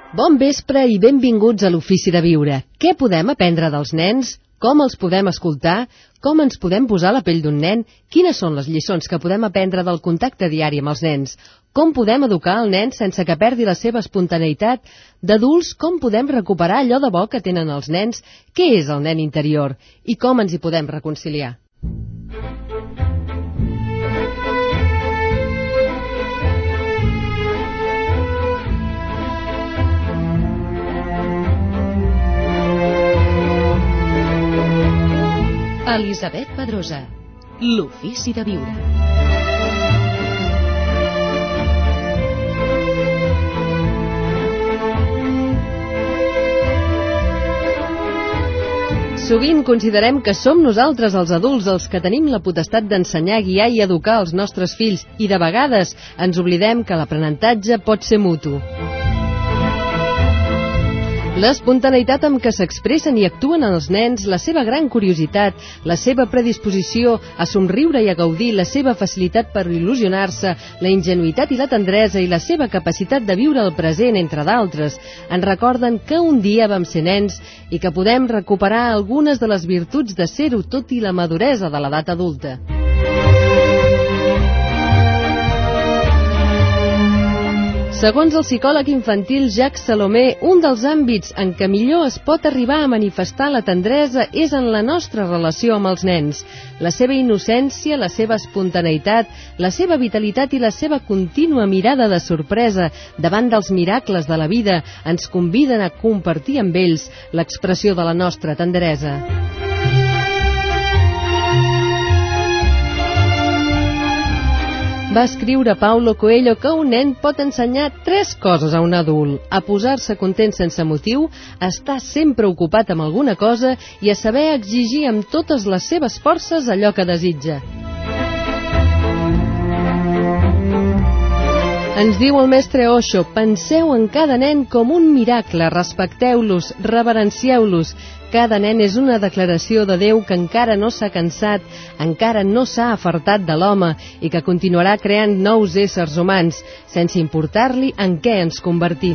Bon vespre i benvinguts a l'Ofici de Viure. Què podem aprendre dels nens? Com els podem escoltar? Com ens podem posar a la pell d'un nen? Quines són les lliçons que podem aprendre del contacte diari amb els nens? Com podem educar el nen sense que perdi la seva espontaneïtat? D'adults, com podem recuperar allò de bo que tenen els nens? Què és el nen interior? I com ens hi podem reconciliar? Elisabet Pedrosa, l'Ofici de Viure. Sovint considerem que som nosaltres els adults els que tenim la potestat d'ensenyar, guiar i educar els nostres fills i de vegades ens oblidem que l'aprenentatge pot ser mutu. L'espontaneïtat amb què s'expressen i actuen els nens, la seva gran curiositat, la seva predisposició a somriure i a gaudir, la seva facilitat per il·lusionar-se, la ingenuïtat i la tendresa i la seva capacitat de viure el present, entre d'altres, ens recorden que un dia vam ser nens i que podem recuperar algunes de les virtuts de ser-ho tot i la maduresa de l'edat adulta. Segons el psicòleg infantil Jacques Salomé, un dels àmbits en què millor es pot arribar a manifestar la tendresa és en la nostra relació amb els nens. La seva innocència, la seva espontaneïtat, la seva vitalitat i la seva contínua mirada de sorpresa davant dels miracles de la vida ens conviden a compartir amb ells l'expressió de la nostra tendresa. Va escriure Paulo Coelho que un nen pot ensenyar 3 coses a un adult: a posar-se content sense motiu, a estar sempre ocupat amb alguna cosa i a saber exigir amb totes les seves forces allò que desitja. Ens diu el mestre Osho: penseu en cada nen com un miracle, respecteu-los, reverencieu-los. Cada nen és una declaració de Déu que encara no s'ha cansat, encara no s'ha afartat de l'home i que continuarà creant nous éssers humans, sense importar-li en què ens convertim.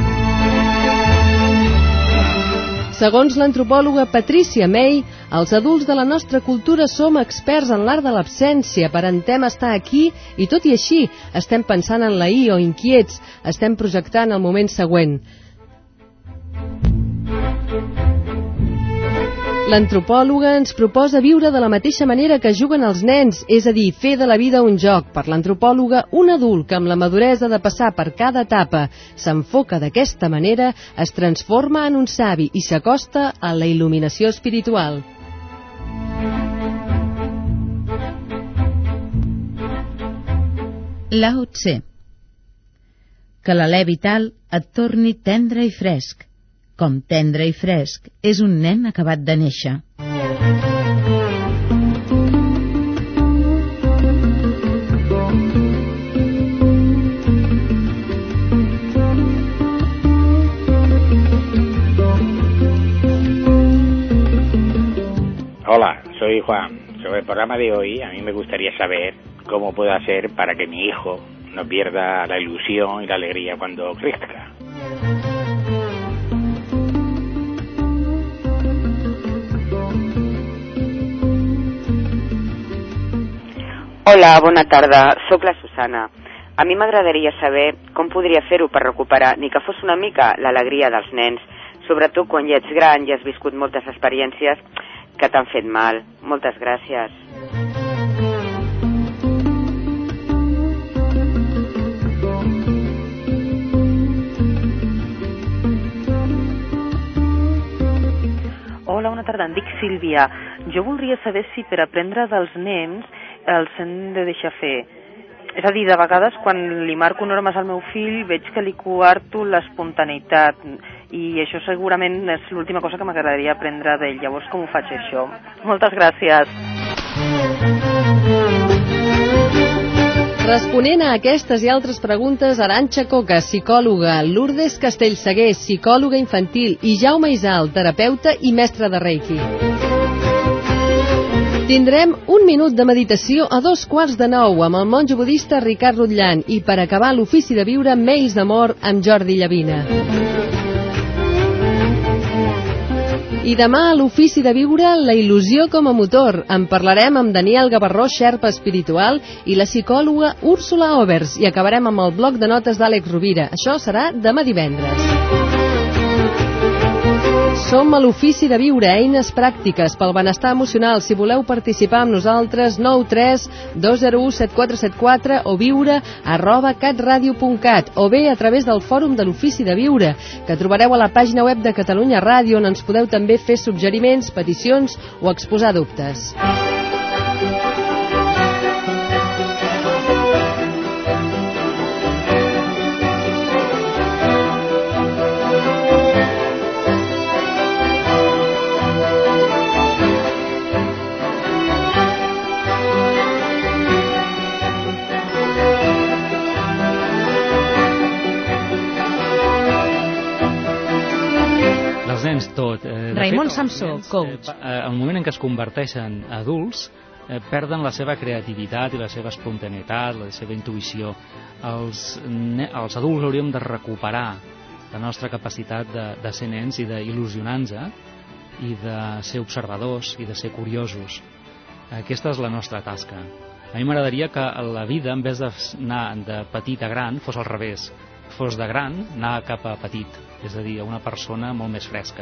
Segons l'antropòloga Patricia May, els adults de la nostra cultura som experts en l'art de l'absència, aparentem estar aquí i tot i així estem pensant en l'ahir o inquiets, estem projectant el moment següent. L'antropòloga ens proposa viure de la mateixa manera que juguen els nens, és a dir, fer de la vida un joc. Per l'antropòloga, un adult que amb la maduresa de passar per cada etapa s'enfoca d'aquesta manera, es transforma en un savi i s'acosta a la il·luminació espiritual. Lao Tse. Que l'alè vital et torni tendre i fresc. Com tendre i fresc és un nen acabat de néixer. Hola, soy Juan. Sobre el programa de hoy, a mí me gustaría saber cómo puedo hacer para que mi hijo no pierda la ilusión y la alegría cuando crezca. Hola, bona tarda. Soc la Susana. A mi m'agradaria saber com podria fer-ho per recuperar, ni que fos una mica, l'alegria dels nens, sobretot quan ja ets gran i has viscut moltes experiències que t'han fet mal. Moltes gràcies. Hola, bona tarda. Em dic Sílvia. Jo voldria saber si per aprendre dels nens els hem de deixar fer. És a dir, de vegades quan li marco normes al meu fill veig que li coarto l'espontaneïtat i això segurament és l'última cosa que m'agradaria aprendre d'ell. Llavors, com ho faig això? Moltes gràcies. Responent a aquestes i altres preguntes, Arantxa Coca, psicòloga, Lourdes Castellsaguer, psicòloga infantil, i Jaume Isal, terapeuta i mestre de Reiki. Tindrem un minut de meditació a 8:45 amb el monjo budista Ricard Rutllant i per acabar l'ofici de viure Mails d'amor amb Jordi Llavina. I demà a l'ofici de viure la il·lusió com a motor. En parlarem amb Daniel Gavarró, xerpa espiritual, i la psicòloga Úrsula Overs, i acabarem amb el bloc de notes d'Àlex Rovira. Això serà demà divendres. Som a l'ofici de viure, eines pràctiques pel benestar emocional. Si voleu participar amb nosaltres, 93 201 7474 o viure@catradio.cat o bé a través del fòrum de l'ofici de viure, que trobareu a la pàgina web de Catalunya Ràdio, on ens podeu també fer suggeriments, peticions o exposar dubtes. Tot. Raimon Samsó, coach. Al moment en què es converteixen adults, perden la seva creativitat i la seva espontaneïtat, la seva intuïció. Els adults hauríem de recuperar la nostra capacitat de ser nens i d'il·lusionar-nos i de ser observadors i de ser curiosos. Aquesta és la nostra tasca. A mi m'agradaria que la vida, en vez d'anar de petit a gran, fos al revés. Fos de gran, anar cap a petit, és a dir, a una persona molt més fresca.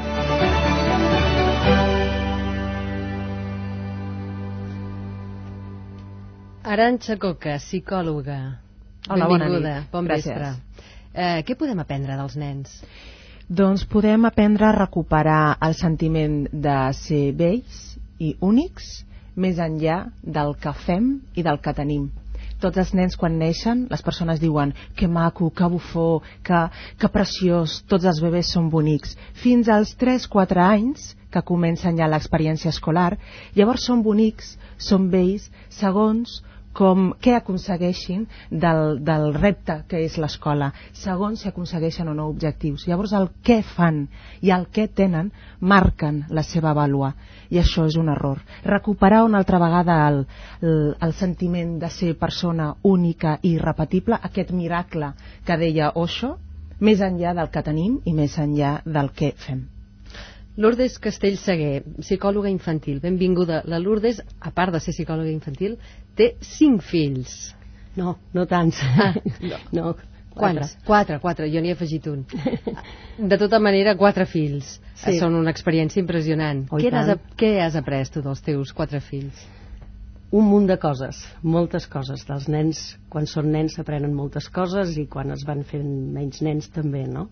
Arantxa Coca, psicòloga. Hola, benvinguda. bona nit. Bon Gràcies. vespre. Què podem aprendre dels nens? Doncs podem aprendre a recuperar el sentiment de ser vells i únics més enllà del que fem i del que tenim. Tots els nens quan neixen, les persones diuen que maco, que bufó, que preciós, tots els bebès són bonics. Fins als 3-4 anys, que comencen ja l'experiència escolar, llavors són bonics, són vells, segons què aconsegueixin del repte que és l'escola, segons si aconsegueixen o no objectius. Llavors el què fan i el què tenen marquen la seva vàlua, i això és un error. Recuperar una altra vegada el sentiment de ser persona única i irrepetible, aquest miracle que deia Osho, més enllà del que tenim i més enllà del que fem. Lourdes Castellsaguer, psicòloga infantil. Benvinguda. La Lourdes, a part de ser psicòloga infantil, té 5 fills. No, no tants. No, Quants? 4, jo n'hi he afegit un. De tota manera, 4 fills. Sí. Són una experiència impressionant. Oh, Què has après tu dels teus 4 fills? Un munt de coses, moltes coses. Dels nens, quan són nens s'aprenen moltes coses i quan es van fent menys nens també, no?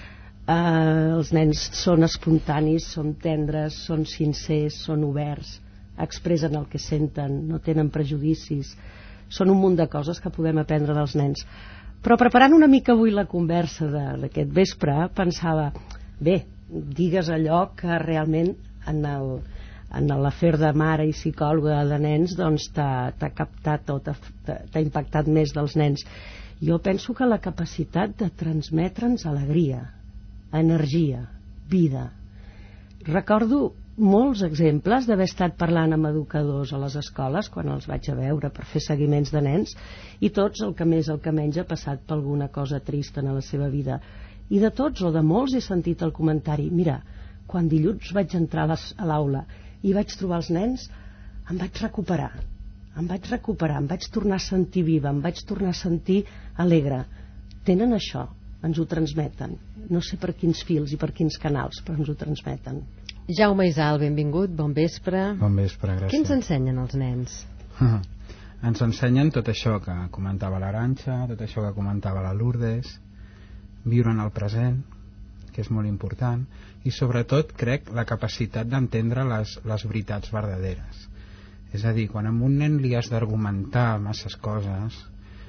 Els nens són espontanis, són tendres, són sincers, són oberts, expressen el que senten, no tenen prejudicis. Són un munt de coses que podem aprendre dels nens. Però preparant una mica avui la conversa d'aquest vespre, pensava, bé, digues allò que realment en l'afer de mare i psicòloga de nens doncs t'ha captat o t'ha impactat més dels nens. Jo penso que la capacitat de transmetre'ns alegria, energia, vida. Recordo molts exemples d'haver estat parlant amb educadors a les escoles quan els vaig a veure per fer seguiments de nens, i tots, el que més el que menys, ha passat per alguna cosa trista en la seva vida, i de tots o de molts he sentit el comentari, mira, quan dilluns vaig entrar a l'aula i vaig trobar els nens, em vaig recuperar, em vaig tornar a sentir viva, em vaig tornar a sentir alegre. Tenen això, ens ho transmeten, no sé per quins fils i per quins canals, però ens ho transmeten. Jaume Isal, benvingut, bon vespre. Bon vespre, gràcies. Què ens ensenyen els nens? Ens ensenyen tot això que comentava l'Arantxa, tot això que comentava la Lourdes, viure en el present, que és molt important, i sobretot crec la capacitat d'entendre les veritats verdaderes. És a dir, quan a un nen li has d'argumentar masses coses,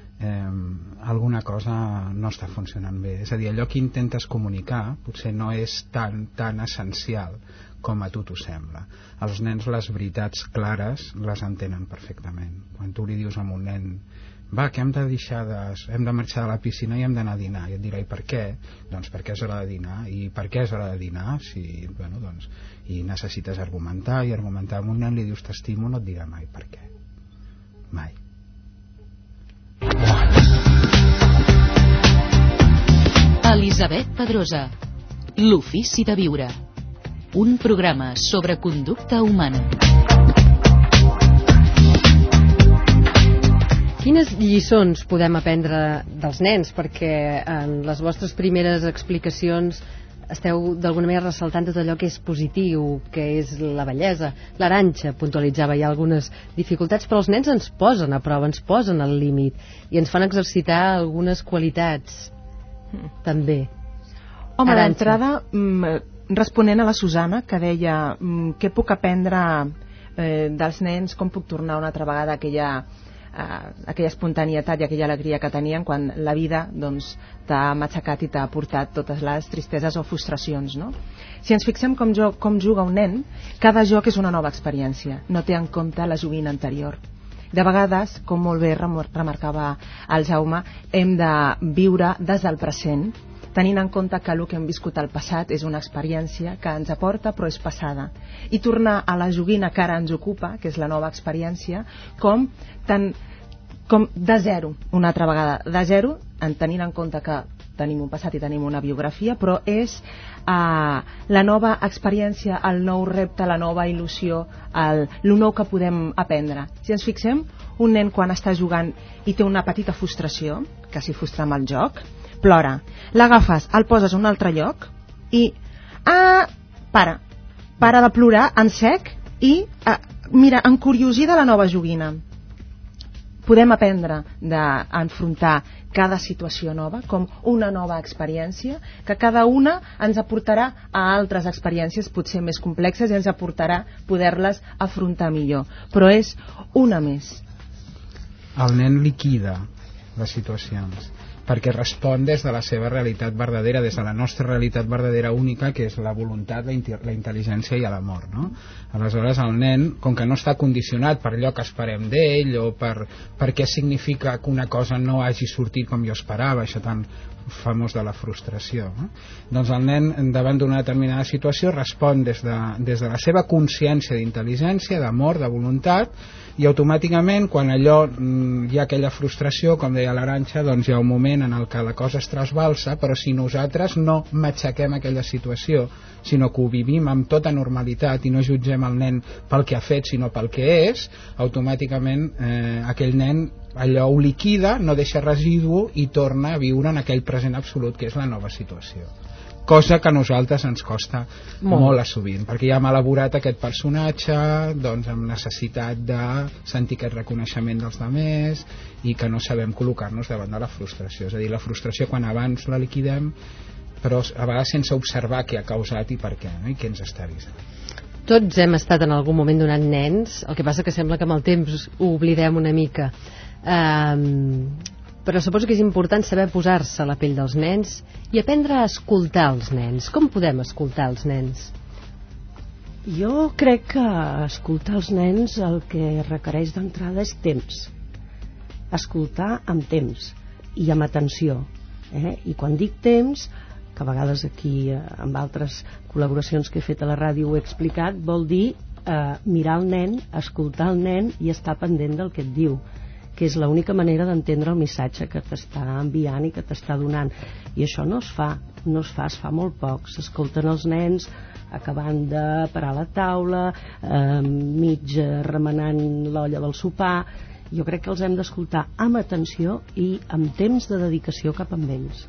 alguna cosa no està funcionant bé. És a dir, allò que intentes comunicar potser no és tan essencial com a tu t'ho sembla. Els nens les veritats clares les entenen perfectament. Quan tu li dius a un nen va, que hem de marxar de la piscina i hem d'anar a dinar, i et dirà, i per què? Doncs perquè és hora de dinar. I per què és hora de dinar? I necessites argumentar, i argumentar amb un nen li dius t'estimo, no et dirà mai per què, mai. Elisabet Pedrosa, L'ofici de viure, un programa sobre conducta humana. Quines lliçons podem aprendre dels nens? Perquè en les vostres primeres explicacions esteu d'alguna manera ressaltant tot allò que és positiu, que és la bellesa. L'Arantxa puntualitzava ja algunes dificultats, però els nens ens posen a prova, ens posen al límit i ens fan exercitar algunes qualitats també. Home, d'entrada, responent a la Susana, que deia què puc aprendre dels nens, com puc tornar una altra vegada a aquella espontanietat i aquella alegria que tenien quan la vida t'ha matxacat i t'ha portat totes les tristeses o frustracions, no? Si ens fixem com juga un nen, cada joc és una nova experiència, no té en compte la joguina anterior. De vegades, com molt bé remarcava el Jaume, hem de viure des del present, tenint en compte que el que hem viscut al passat és una experiència que ens aporta però és passada, i tornar a la joguina que ara ens ocupa, que és la nova experiència, com de zero, una altra vegada de zero, tenint en compte que tenim un passat i tenim una biografia, però és la nova experiència, el nou repte, la nova il·lusió, el nou que podem aprendre. Si ens fixem, un nen quan està jugant i té una petita frustració, que s'hi frustra amb el joc, plora, l'agafes, el poses a un altre lloc i para de plorar en sec i mira, encuriosida la nova joguina. Podem aprendre d'enfrontar cada situació nova com una nova experiència, que cada una ens aportarà a altres experiències potser més complexes i ens aportarà poder-les afrontar millor, però és una més. El nen liquida les situacions perquè respon des de la seva realitat verdadera, des de la nostra realitat verdadera única, que és la voluntat, la intel·ligència i l'amor, no? Aleshores el nen, com que no està condicionat per allò que esperem d'ell o per què significa que una cosa no hagi sortit com jo esperava, això tan famós de la frustració, no? Doncs el nen davant d'una determinada situació respon des de la seva consciència d'intel·ligència, d'amor, de voluntat, i automàticament quan allò hi ha aquella frustració, com deia l'Arantxa, doncs hi ha un moment en el que la cosa es trasbalsa, però si nosaltres no matxaquem aquella situació, sinó que ho vivim amb tota normalitat i no jutgem el nen pel que ha fet sinó pel que és, automàticament aquell nen allò ho liquida, no deixa residu i torna a viure en aquell present absolut que és la nova situació, cosa que a nosaltres ens costa molt a sovint, perquè ja hem elaborat aquest personatge amb necessitat de sentir aquest reconeixement dels altres i que no sabem col·locar-nos davant de la frustració. És a dir, la frustració quan abans la liquidem, però a vegades sense observar què ha causat i per què, no? I què ens està avisant. Tots hem estat en algun moment donant nens, el que passa que sembla que amb el temps ho oblidem una mica, però suposo que és important saber posar-se a la pell dels nens i aprendre a escoltar els nens. Com podem escoltar els nens? Jo crec que escoltar els nens el que requereix d'entrada és temps. Escoltar amb temps i amb atenció. I quan dic temps, que a vegades aquí amb altres col·laboracions que he fet a la ràdio ho he explicat, vol dir mirar el nen, escoltar el nen i estar pendent del que et diu, que és l'única manera d'entendre el missatge que t'està enviant i que t'està donant. I això no es fa, es fa molt poc. S'escolten els nens acabant de parar la taula, mig remenant l'olla del sopar. Jo crec que els hem d'escoltar amb atenció i amb temps de dedicació cap amb ells.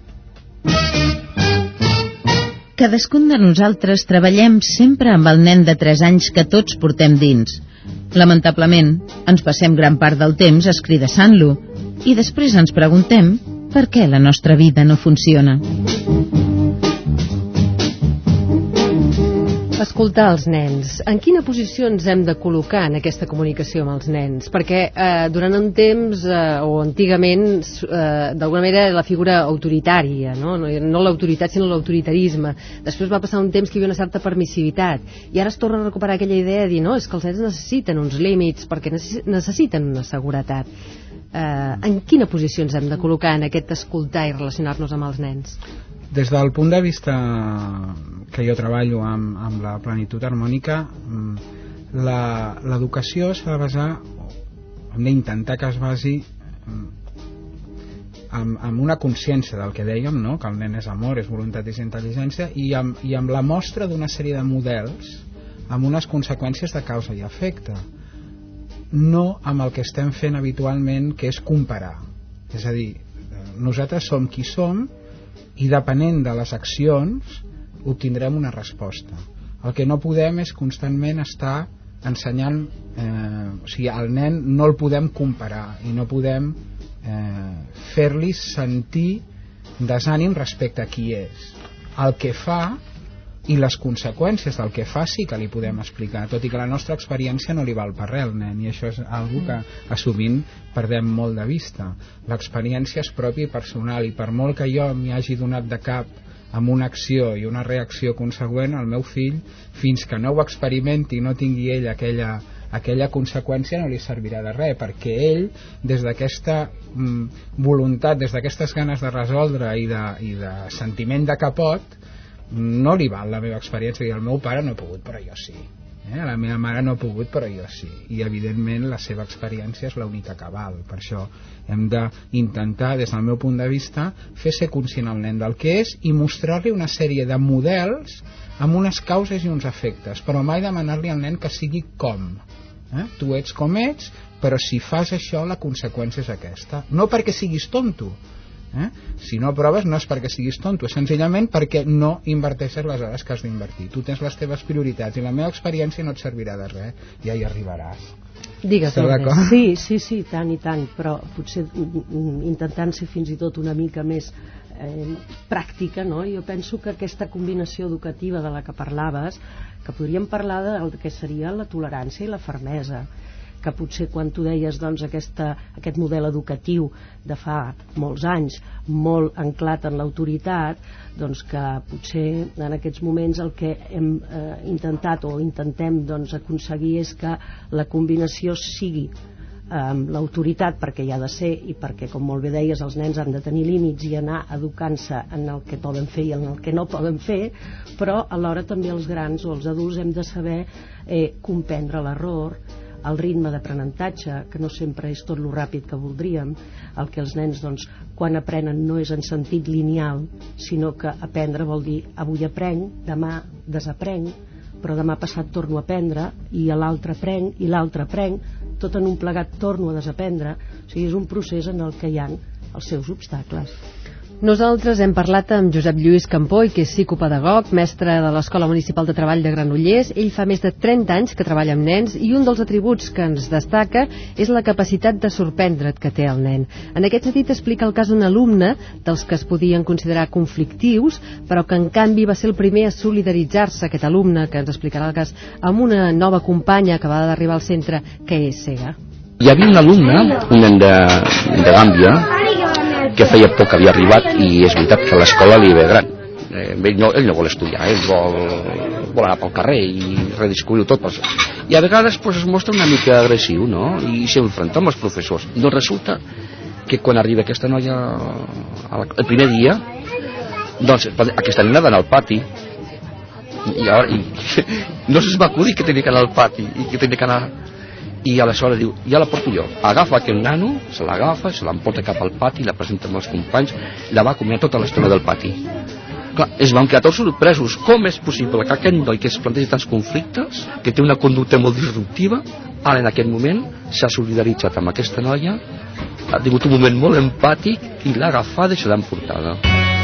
Cadascun de nosaltres treballem sempre amb el nen de 3 anys que tots portem dins. Lamentablement, ens passem gran part del temps escridassant-lo i després ens preguntem per què la nostra vida no funciona. Escoltar els nens. En quina posició ens hem de col·locar en aquesta comunicació amb els nens? Perquè durant un temps, o antigament, d'alguna manera la figura autoritària, no l'autoritat sinó l'autoritarisme. Després va passar un temps que hi havia una certa permissivitat i ara es torna a recuperar aquella idea de dir no, és que els nens necessiten uns límits perquè necessiten una seguretat. En quina posició ens hem de col·locar en aquest escoltar i relacionar-nos amb els nens? Des del punt de vista que jo treballo amb la plenitud harmònica, l'educació s'ha de basar, hem d'intentar que es basi amb una consciència del que dèiem, no? Que el nen és amor, és voluntat, és intel·ligència, i amb la mostra d'una sèrie de models amb unes conseqüències de causa i efecte, no amb el que estem fent habitualment, que és comparar. És a dir, nosaltres som qui som i depenent de les accions obtindrem una resposta. El que no podem és constantment estar ensenyant, o sigui, al nen no el podem comparar i no podem fer-li sentir desànim respecte a qui és. El que fa i les conseqüències del que fa sí que li podem explicar, tot i que la nostra experiència no li val per res al nen, i això és algo que sovint perdem molt de vista. L'experiència és pròpia i personal, i per molt que jo m'hi hagi donat de cap amb una acció i una reacció consegüent, el meu fill, fins que no ho experimenti i no tingui ell aquella conseqüència, no li servirà de res, perquè ell, des d'aquesta voluntat, des d'aquestes ganes de resoldre i de sentiment de capot, no li val la meva experiència, i el meu pare no ha pogut però jo sí, la meva mare no ha pogut però jo sí, i evidentment la seva experiència és l'única que val. Per això hem d'intentar, des del meu punt de vista, fer ser conscient al nen del que és i mostrar-li una sèrie de models amb unes causes i uns efectes, però mai demanar-li al nen que sigui com. Tu ets com ets, però si fas això la conseqüència és aquesta, no perquè siguis tonto. Si no proves no és perquè siguis tonto, és senzillament perquè no inverteixes les hores que has d'invertir. Tu tens les teves prioritats i la meva experiència no et servirà de res, ja hi arribaràs. Digues, sí, tant i tant, però potser intentant ser fins i tot una mica més pràctica, no? Jo penso que aquesta combinació educativa de la que parlaves, que podríem parlar del que seria la tolerància i la fermesa, que potser quan tu deies doncs, aquest model educatiu de fa molts anys, molt anclat en l'autoritat, doncs que potser en aquests moments el que hem intentat o intentem doncs, aconseguir és que la combinació sigui l'autoritat, perquè hi ha de ser i perquè, com molt bé deies, els nens han de tenir límits i anar educant-se en el que poden fer i en el que no poden fer, però alhora també els grans o els adults hem de saber comprendre l'error, el ritme d'aprenentatge, que no sempre és tot lo ràpid que voldríem, el que els nens doncs, quan aprenen no és en sentit lineal, sinó que aprendre vol dir avui aprenc, demà desaprenc, però demà passat torno a aprendre i l'altre aprenc i l'altre aprenc, tot en un plegat torno a desaprendre. O sigui, és un procés en el que hi ha els seus obstacles. Nosaltres hem parlat amb Josep Lluís Campoy, que és psicopedagog, mestre de l'Escola Municipal de Treball de Granollers. Ell fa més de 30 anys que treballa amb nens i un dels atributs que ens destaca és la capacitat de sorprendre't que té el nen. En aquest sentit explica el cas d'un alumne dels que es podien considerar conflictius, però que en canvi va ser el primer a solidaritzar-se, aquest alumne, que ens explicarà el cas, amb una nova companya que va d'arribar al centre, que és cega. Hi havia un alumne, un nen de Gàmbia, que feia poc que havia arribat, i és veritat que l'escola li ve gran. Ell no vol estudiar, ell vol anar pel carrer i redescobrir-ho tot. I a vegades es mostra una mica agressiu, no? I s'enfronta amb els professors. Doncs resulta que quan arriba aquesta noia el primer dia, doncs aquesta nena va anar al pati i no se'ls va acudir que tenia que anar al pati i que tenia que anar. I aleshores diu, ja la porto jo. Agafa aquell nano, se l'agafa, se l'emporta cap al pati, la presenta amb els companys, la va acomiadar tota l'estona del pati. Clar, es van quedar tots sorpresos. Com és possible que aquest noi que es plantegi tants conflictes, que té una conducta molt disruptiva, ara en aquest moment s'ha solidaritzat amb aquesta noia, ha tingut un moment molt empàtic i l'ha agafada i se l'ha emportada.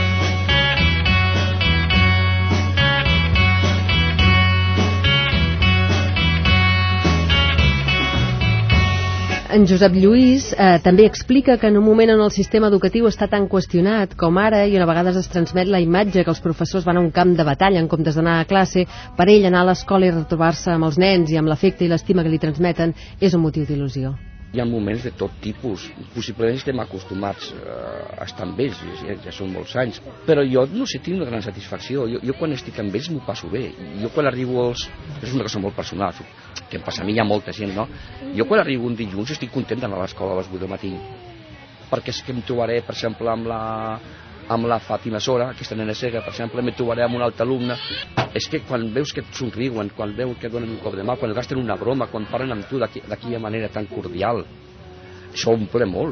En Josep Lluís també explica que en un moment on el sistema educatiu està tan qüestionat com ara i on a vegades es transmet la imatge que els professors van a un camp de batalla en comptes d'anar a classe, per ell anar a l'escola i retrobar-se amb els nens i amb l'afecte i l'estima que li transmeten és un motiu d'il·lusió. Hi ha moments de tot tipus, possiblement estem acostumats a estar amb ells, ja són molts anys, però jo no sé, tinc una gran satisfacció, jo quan estic amb ells m'ho passo bé, jo quan arribo és una cosa molt personal, que em passa a mi, hi ha molta gent, no? Jo quan arribo un dilluns estic content d'anar a l'escola a les 8 del matí, perquè és que em trobaré, per exemple, amb la Fàtima Sora, aquesta nena cega, per exemple, me trobaré amb un altre alumne. És que quan veus que et somriuen, quan veus que et donen un cop de mà, quan gasten una broma, quan parlen amb tu d'aquella manera tan cordial, això omple molt.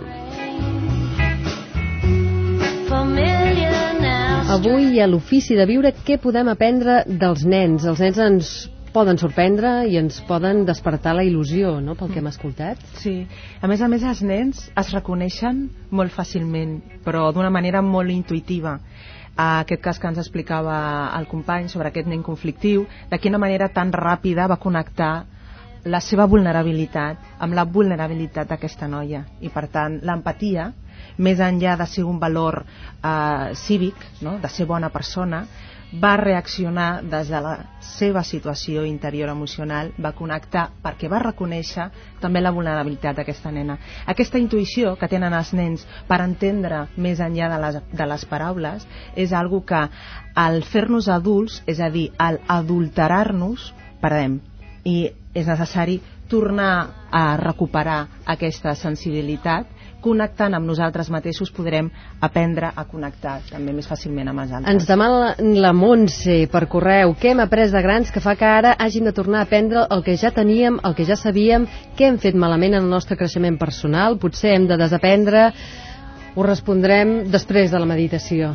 Avui a l'Ofici de Viure, què podem aprendre dels nens? Els nens ens poden sorprendre i ens poden despertar la il·lusió, no?, pel que hem escoltat. Sí, a més, els nens es reconeixen molt fàcilment, però d'una manera molt intuïtiva. Aquest cas que ens explicava el company sobre aquest nen conflictiu, de quina manera tan ràpida va connectar la seva vulnerabilitat amb la vulnerabilitat d'aquesta noia. I per tant, l'empatia, més enllà de ser un valor cívic, no?, de ser bona persona, va reaccionar des de la seva situació interior emocional, va connectar perquè va reconèixer també la vulnerabilitat d'aquesta nena. Aquesta intuïció que tenen els nens per entendre més enllà de les paraules és algo que al fer-nos adults, és a dir, al adulterar-nos, perdem. I és necessari tornar a recuperar aquesta sensibilitat. Connectant amb nosaltres mateixos podrem aprendre a connectar també més fàcilment amb els altres. Ens demana la Montse per correu què hem après de grans que fa que ara hàgim de tornar a aprendre el que ja teníem, el que ja sabíem, què hem fet malament en el nostre creixement personal, potser hem de desaprendre. Ho respondrem després de la meditació.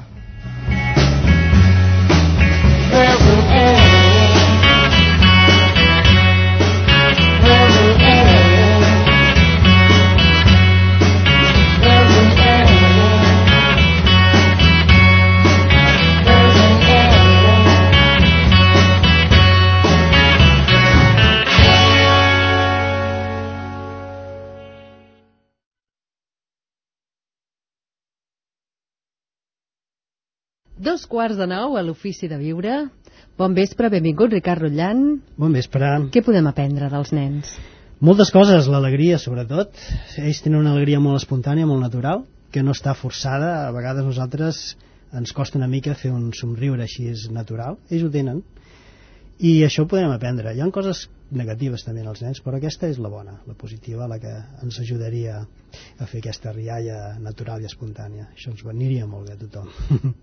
Dos quarts de 9 a l'Ofici de Viure. Bon vespre, benvingut Ricard Rotllant. Bon vespre. Què podem aprendre dels nens? Moltes coses, l'alegria sobretot. Ells tenen una alegria molt espontània, molt natural, que no està forçada. A vegades nosaltres ens costa una mica fer un somriure així és natural. Ells ho tenen. I això ho podem aprendre. Hi ha coses negatives també en els nens, però aquesta és la bona, la positiva, la que ens ajudaria a fer aquesta rialla natural i espontània. Això ens aniria molt bé a tothom.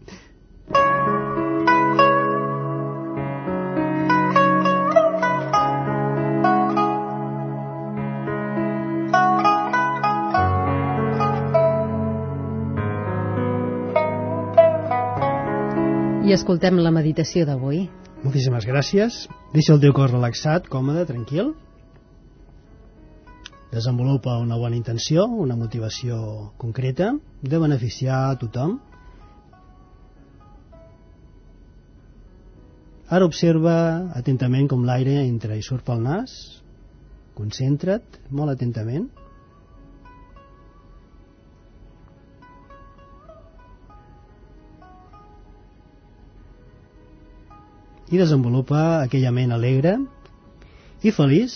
I escoltem la meditació d'avui. Moltíssimes gràcies. Deixa el teu cos relaxat, còmode, tranquil. Desenvolupa una bona intenció, una motivació concreta de beneficiar a tothom. Ara observa atentament com l'aire entra i surt pel nas. Concentra't molt atentament. I desenvolupa aquella ment alegre i feliç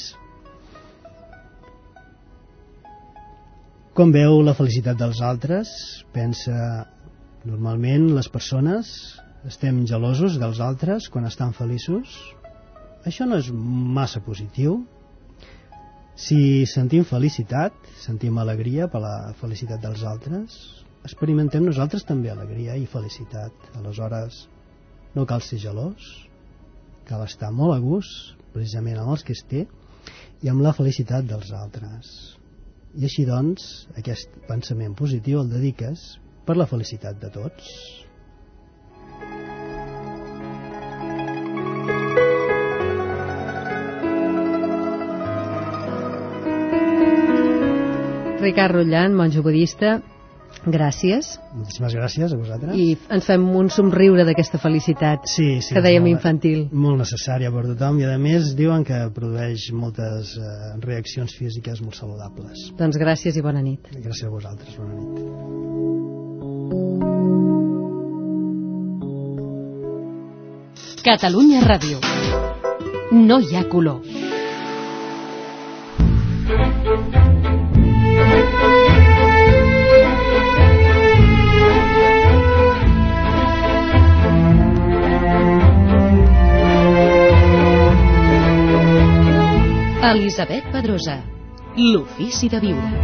com veu la felicitat dels altres. Pensa, normalment les persones estem gelosos dels altres quan estan feliços. Això no és massa positiu. Si sentim felicitat, sentim alegria per la felicitat dels altres, experimentem nosaltres també alegria i felicitat. Aleshores no cal ser gelós, cal estar molt a gust precisament amb els que es té i amb la felicitat dels altres. I així doncs aquest pensament positiu el dediques per la felicitat de tots. Ricard Rotllant, monjo budista, gràcies. Moltíssimes gràcies a vosaltres. I ens fem un somriure d'aquesta felicitat que dèiem infantil. Molt necessària per tothom i a més diuen que produeix moltes reaccions físiques molt saludables. Doncs gràcies i bona nit. Gràcies a vosaltres, bona nit. Catalunya Ràdio. No hi ha color. Elisabet Pedrosa, l'ofici de viure.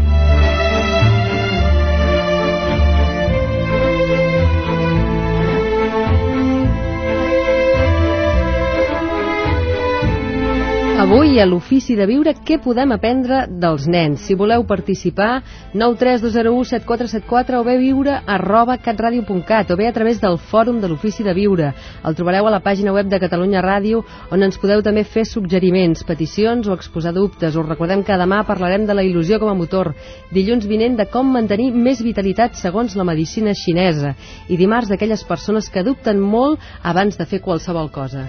Avui, a l'Ofici de Viure, què podem aprendre dels nens? Si voleu participar, 932017474 o bé viure@catradio.cat o bé a través del fòrum de l'Ofici de Viure. El trobareu a la pàgina web de Catalunya Ràdio, on ens podeu també fer suggeriments, peticions o exposar dubtes. Us recordem que demà parlarem de la il·lusió com a motor, dilluns vinent de com mantenir més vitalitat segons la medicina xinesa i dimarts d'aquelles persones que dubten molt abans de fer qualsevol cosa.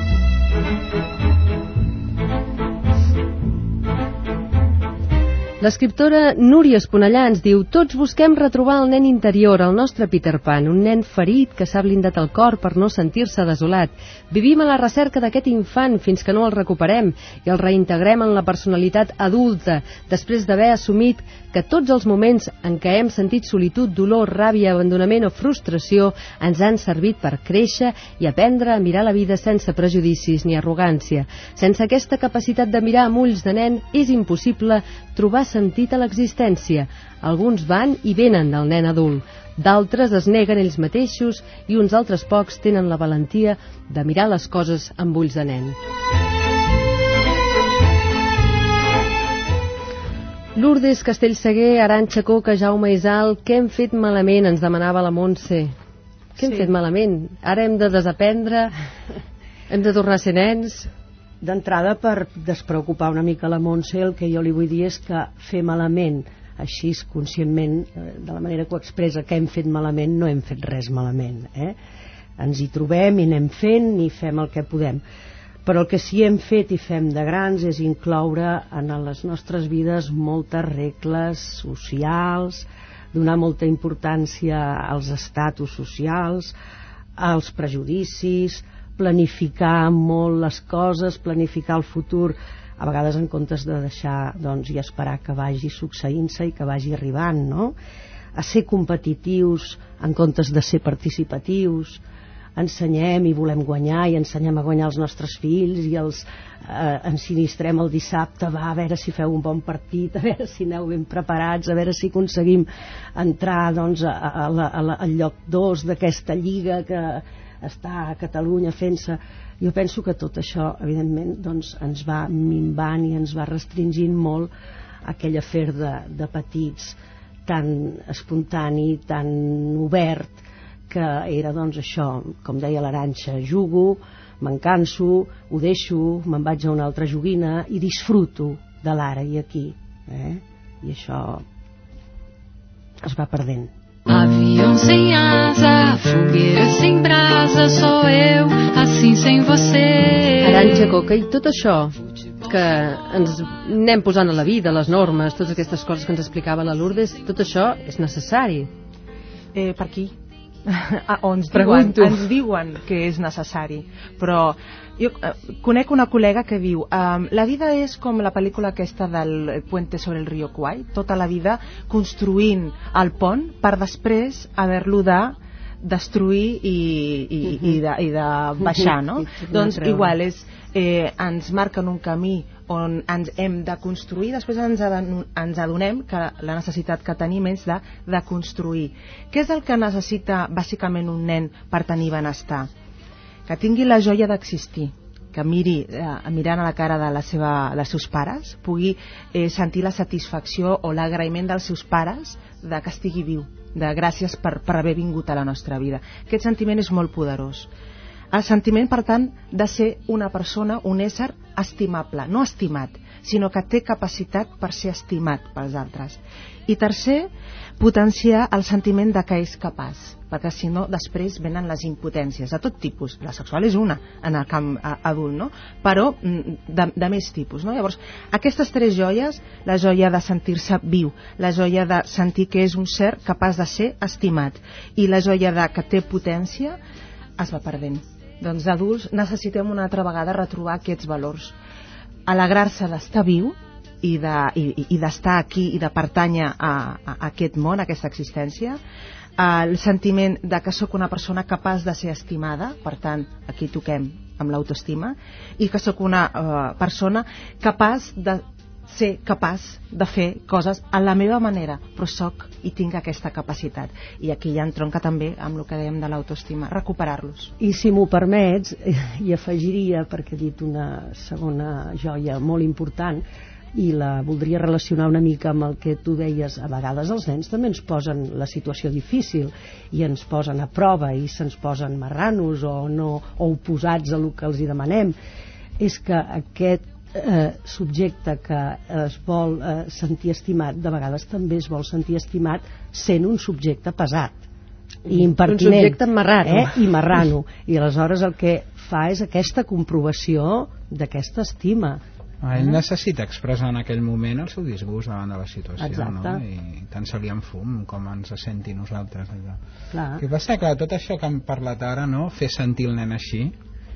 L'escriptora Núria Esponellà ens diu: tots busquem retrobar el nen interior, el nostre Peter Pan, un nen ferit que s'ha blindat el cor per no sentir-se desolat. Vivim a la recerca d'aquest infant fins que no el recuperem i el reintegrem en la personalitat adulta, després d'haver assumit que tots els moments en què hem sentit solitud, dolor, ràbia, abandonament o frustració ens han servit per créixer i aprendre a mirar la vida sense prejudicis ni arrogància. Sense aquesta capacitat de mirar amb ulls de nen és impossible trobar sentit a l'existència. Alguns van i venen del nen adult, d'altres es neguen ells mateixos i uns altres pocs tenen la valentia de mirar les coses amb ulls de nen. Lourdes Castellseguer, Arantxa Coca, Jaume Isal, què hem fet malament? Ens demanava la Montse. Què hem fet malament? Ara hem de desaprendre? Hem de tornar a ser nens? D'entrada, per despreocupar una mica la Montse, el que jo li vull dir és que fer malament, així conscientment, de la manera que ho expressa, que hem fet malament, no hem fet res malament. Ens hi trobem i anem fent i fem el que podem. Però el que sí hem fet i fem de grans és incloure en les nostres vides moltes regles socials, donar molta importància als estatus socials, als prejudicis, planificar molt les coses, planificar el futur, a vegades en comptes de deixar i esperar que vagi succeint-se i que vagi arribant, no? A ser competitius en comptes de ser participatius. Ensenyem i volem guanyar i ensenyem a guanyar els nostres fills i els ensinistrem el dissabte, va, a veure si feu un bon partit, a veure si aneu ben preparats, a veure si aconseguim entrar al lloc 2 d'aquesta lliga que està a Catalunya fent-se. Jo penso que tot això evidentment ens va minvant i ens va restringint molt aquell afer de petits tan espontani, tan obert, que era això, com deia l'Arantxa, jugo, me'n canso, ho deixo, me'n vaig a una altra joguina i disfruto de l'ara i aquí. I això es va perdent. Avião sem asa, fogueira sem brasa, sou eu, assim sem você. Arantxa Coca, i tot això que ens anem posant a la vida, les normes, totes aquestes coses que ens explicava la Lourdes, tot això és necessari? Per aquí. Ens diuen que és necessari, però jo conec una col·lega que diu la vida és com la pel·lícula aquesta del Puente sobre el río Kwai, tota la vida construint el pont per després haver-lo de destruir i de baixar, no? Doncs igual ens marquen un camí on ens hem de construir, després ens adonem que la necessitat que tenim és de construir. Què és el que necessita bàsicament un nen per tenir benestar? Que tingui la joia d'existir, que mirant a la cara dels seus pares pugui sentir la satisfacció o l'agraïment dels seus pares de que estigui viu, de gràcies per haver vingut a la nostra vida. Aquest sentiment és molt poderós. El sentiment, per tant, de ser una persona, un ésser estimable, no estimat, sinó que té capacitat per ser estimat pels altres. I tercer, potenciar el sentiment de que és capaç, perquè si no després venen les impotències de tot tipus. La sexual és una en el camp adult, no? Però de més tipus, no? Llavors, aquestes tres joies, la joia de sentir-se viu, la joia de sentir que és un ser capaç de ser estimat i la joia de que té potència, es va perdent. Doncs d'adults necessitem una altra vegada retrobar aquests valors, alegrar-se d'estar viu i d'estar aquí i de pertànyer a aquest món, a aquesta existència, el sentiment de que sóc una persona capaç de ser estimada, per tant, aquí toquem amb l'autoestima i que sóc una persona capaç de fer coses a la meva manera, però sóc i tinc aquesta capacitat. I aquí ja entronca també amb el que dèiem de l'autoestima, recuperar-los. I si m'ho permets, hi afegiria, perquè he dit una segona joia molt important, i la voldria relacionar una mica amb el que tu deies. A vegades els nens també ens posen la situació difícil i ens posen a prova i se'ns posen marranos o oposats a el que els hi demanem. És que aquest subjecte que es vol sentir estimat, de vegades també es vol sentir estimat sent un subjecte pesat i impertinent, un subjecte marrano, i marrano, i aleshores el que fa és aquesta comprovació d'aquesta estima. Ell necessita expressar en aquell moment el seu disgust davant de la situació, no? I tant se li en fum com ens senti nosaltres allò. El que passa que tot això que hem parlat ara, no? Fer sentir el nen així,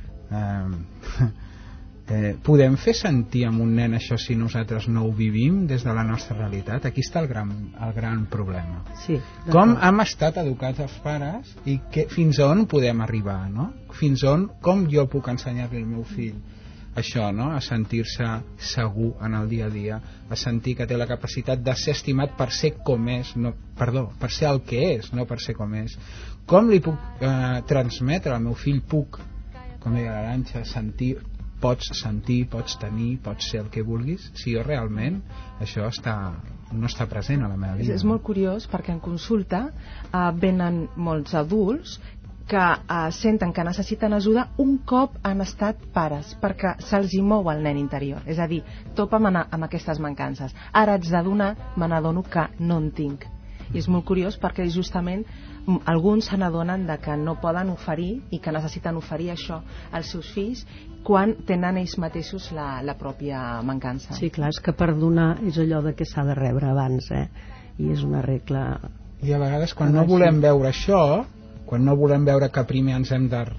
podem fer sentir amb un nen això si nosaltres no ho vivim des de la nostra realitat? Aquí està el gran problema. Sí, com hem estat educats els pares i fins a on podem arribar, no? Fins a on, com jo puc ensenyar-li al meu fill això, no? A sentir-se segur en el dia a dia, a sentir que té la capacitat de ser estimat per ser com és, per ser el que és, no per ser com és. Com li puc transmetre al meu fill, com deia l'Arantxa, pots sentir, pots tenir, pots ser el que vulguis, si jo realment això no està present a la meva vida. És molt curiós perquè en consulta venen molts adults que senten que necessiten ajuda un cop han estat pares, perquè se'ls hi mou el nen interior, és a dir, topa'm amb aquestes mancances, ara haig de donar, me n'adono que no en tinc. I és molt curiós perquè justament alguns se n'adonen que no poden oferir i que necessiten oferir això als seus fills quan tenen ells mateixos la pròpia mancança. Sí, clar, és que per donar és allò de que s'ha de rebre abans, i és una regla. I a vegades quan no volem veure això, quan no volem veure que primer ens hem de...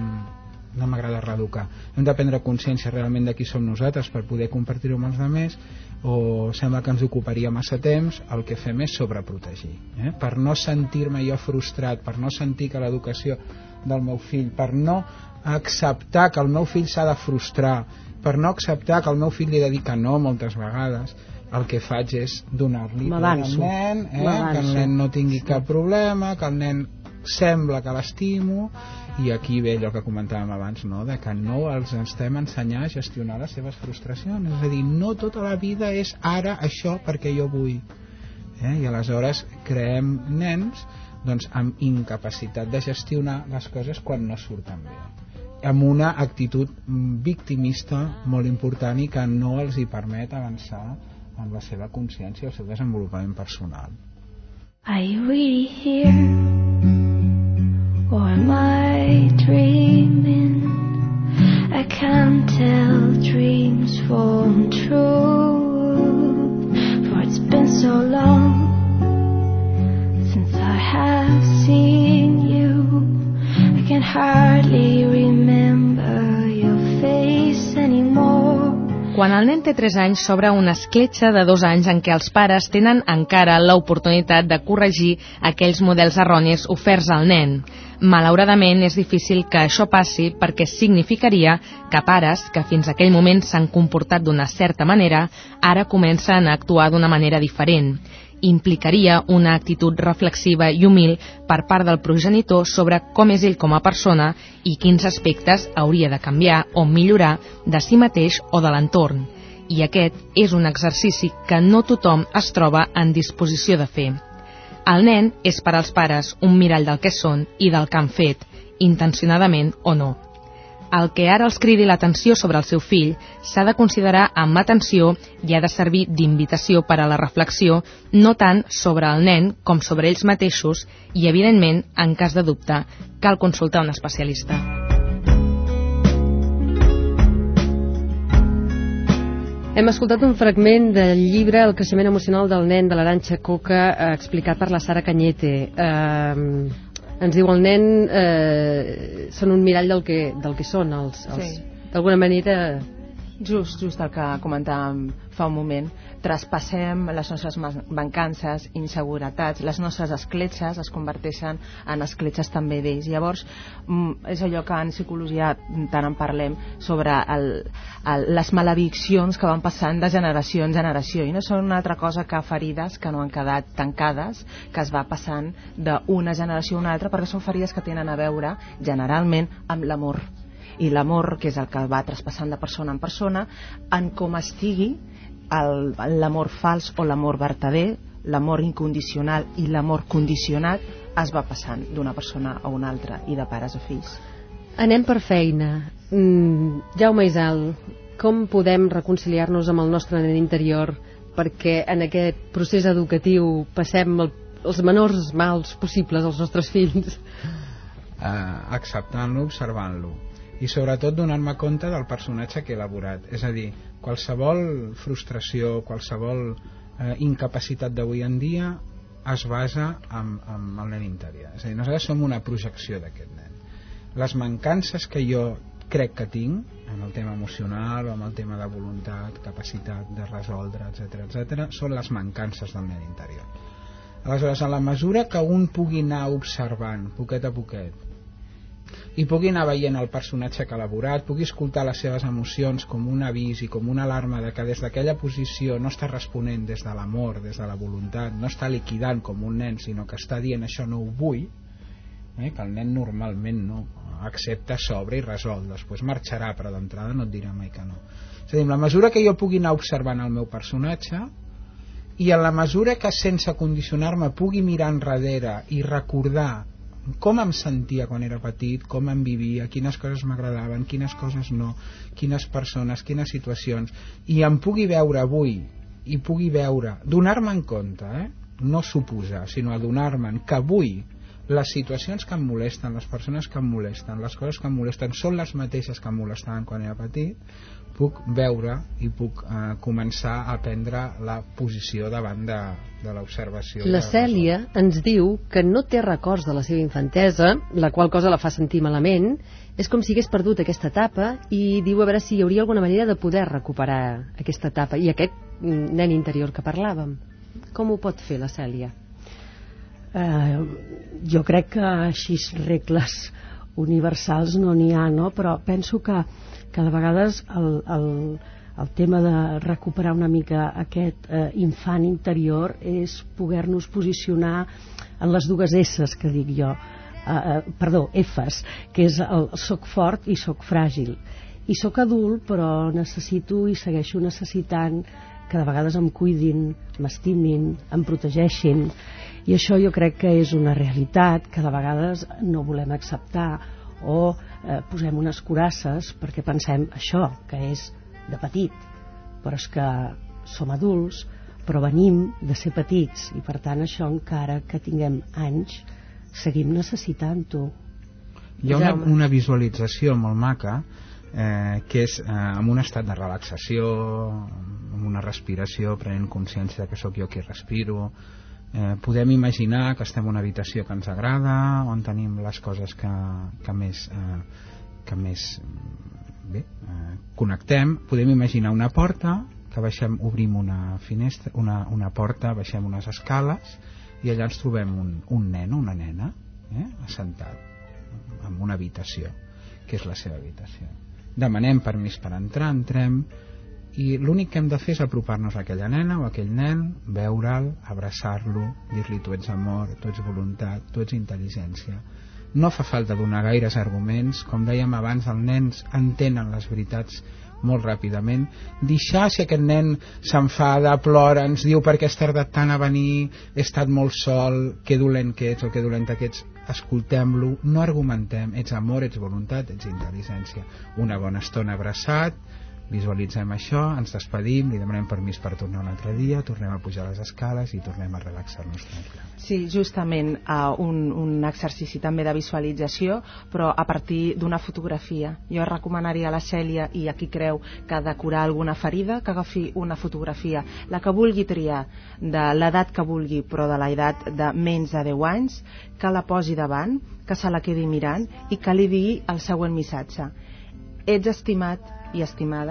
no m'agrada reeducar, hem de prendre consciència realment de qui som nosaltres per poder compartir-ho amb els altres, o sembla que ens ocuparia massa temps, el que fem és sobreprotegir, per no sentir-me jo frustrat, per no sentir que l'educació del meu fill, per no acceptar que el meu fill s'ha de frustrar, per no acceptar que el meu fill li ha de dir que no moltes vegades, el que faig és donar-li al nen, que el nen no tingui cap problema, que el nen sembla que l'estimo, i aquí ve allò que comentàvem abans, no? De que no els estem ensenyant a gestionar les seves frustracions, és a dir, no tota la vida és ara això perquè jo vull, i aleshores creem nens amb incapacitat de gestionar les coses quan no surten bé, amb una actitud victimista molt important i que no els hi permet avançar en la seva consciència i el seu desenvolupament personal. Are you really here? Or am I dreaming? I can't tell dreams from truth, for it's been so long since I have seen you. I can hardly remember your face anymore. Quan el nen té 3 anys s'obre una escletxa de 2 anys en què els pares tenen encara l'oportunitat de corregir aquells models erronis oferts al nen. Malauradament és difícil que això passi perquè significaria que pares que fins aquell moment s'han comportat d'una certa manera ara comencen a actuar d'una manera diferent. Implicaria una actitud reflexiva i humil per part del progenitor sobre com és ell com a persona i quins aspectes hauria de canviar o millorar de si mateix o de l'entorn. I aquest és un exercici que no tothom es troba en disposició de fer. El nen és per als pares un mirall del que són i del que han fet, intencionadament o no. El que ara els cridi l'atenció sobre el seu fill s'ha de considerar amb atenció i ha de servir d'invitació per a la reflexió no tant sobre el nen com sobre ells mateixos i, evidentment, en cas de dubte, cal consultar un especialista. Hem escoltat un fragment del llibre El creixement emocional del nen de l'Arantxa Coca, explicat per la Sara Cañete. Ens diu el nen són un mirall del que són els sí. D'alguna manera Just el que comentàvem fa un moment. Traspassem les nostres mancances, inseguretats, les nostres escletxes es converteixen en escletxes també d'ells. Llavors, és allò que en psicologia tant en parlem sobre les malediccions que van passant de generació en generació, i no són una altra cosa que ferides que no han quedat tancades, que es va passant d'una generació a una altra, perquè són ferides que tenen a veure generalment amb l'amor. I l'amor, que és el que va traspassant de persona en persona, en com estigui l'amor fals o l'amor vertader, l'amor incondicional i l'amor condicionat, es va passant d'una persona a una altra i de pares a fills. Anem per feina. Jaume Isal, com podem reconciliar-nos amb el nostre nen interior perquè en aquest procés educatiu passem els menors mals possibles als nostres fills? Acceptant-lo, observant-lo, i sobretot donar-me compte del personatge que he elaborat. És a dir, qualsevol frustració, qualsevol incapacitat d'avui en dia es basa en el nen interior. És a dir, nosaltres som una projecció d'aquest nen. Les mancances que jo crec que tinc en el tema emocional o en el tema de voluntat, capacitat de resoldre, etc., són les mancances del nen interior. Aleshores, a la mesura que un pugui anar observant poquet a poquet i pugui anar veient el personatge que ha elaborat, pugui escoltar les seves emocions com un avís i com una alarma de que des d'aquella posició no està responent des de l'amor, des de la voluntat, no està liquidant com un nen, sinó que està dient això no ho vull, que el nen normalment no accepta, s'obre i resol, després marxarà, però d'entrada no et dirà mai que no. És a dir, en la mesura que jo pugui anar observant el meu personatge i en la mesura que sense condicionar-me pugui mirar enrere i recordar com em sentia quan era petit, com em vivia, quines coses m'agradaven, quines coses no, quines persones, quines situacions, i em pugui veure avui i pugui veure, donar-me en compte, no suposar, sinó adonar-me'n que avui les situacions que em molesten, les persones que em molesten, les coses que em molesten són les mateixes que em molestaven quan era petit, puc veure i puc començar a prendre la posició davant de l'observació. La Cèlia ens diu que no té records de la seva infantesa, la qual cosa la fa sentir malament. És com si hagués perdut aquesta etapa i diu a veure si hi hauria alguna manera de poder recuperar aquesta etapa i aquest nen interior que parlàvem. Com ho pot fer la Cèlia? Jo crec que així regles universals no n'hi ha, no? Però penso que de vegades el tema de recuperar una mica aquest infant interior és poder-nos posicionar en les dues S's que dic jo, F's, que és el soc fort i soc fràgil. I soc adult, però necessito i segueixo necessitant que de vegades em cuidin, m'estimin, em protegeixin, i això jo crec que és una realitat que de vegades no volem acceptar, o posem unes curasses perquè pensem això, que és de petit, però és que som adults, però venim de ser petits, i per tant això encara que tinguem anys seguim necessitant-ho. Hi ha una visualització molt maca que és en un estat de relaxació, amb una respiració, prenent consciència que sóc jo qui respiro. Podem imaginar que estem en una habitació que ens agrada, on tenim les coses que més connectem. Podem imaginar una porta, que baixem, obrim una finestra, una porta, baixem unes escales i allà ens trobem un nen o una nena assentat en una habitació que és la seva habitació. Demanem permís per entrar, entrem, i l'únic que hem de fer és apropar-nos a aquella nena o a aquell nen, veure'l, abraçar-lo, dir-li tu ets amor, tu ets voluntat, tu ets intel·ligència. No fa falta donar gaires arguments, com dèiem abans, els nens entenen les veritats molt ràpidament. Deixar, si aquest nen s'enfada, plora, ens diu per què has tardat tant a venir, he estat molt sol, que dolent que ets o que dolenta que ets, escoltem-lo, no argumentem, ets amor, ets voluntat, ets intel·ligència. Una bona estona abraçat, visualitzem això, ens despedim, li demanem permís per tornar un altre dia, tornem a pujar les escales i tornem a relaxar-nos tranquil·lament. Sí, justament un exercici també de visualització, però a partir d'una fotografia. Jo recomanaria a la Cèlia, i a qui creu que ha de curar alguna ferida, que agafi una fotografia, la que vulgui triar, de l'edat que vulgui, però de l'edat de menys de 10 anys, que la posi davant, que se la quedi mirant i que li digui el següent missatge: ets estimat i estimada,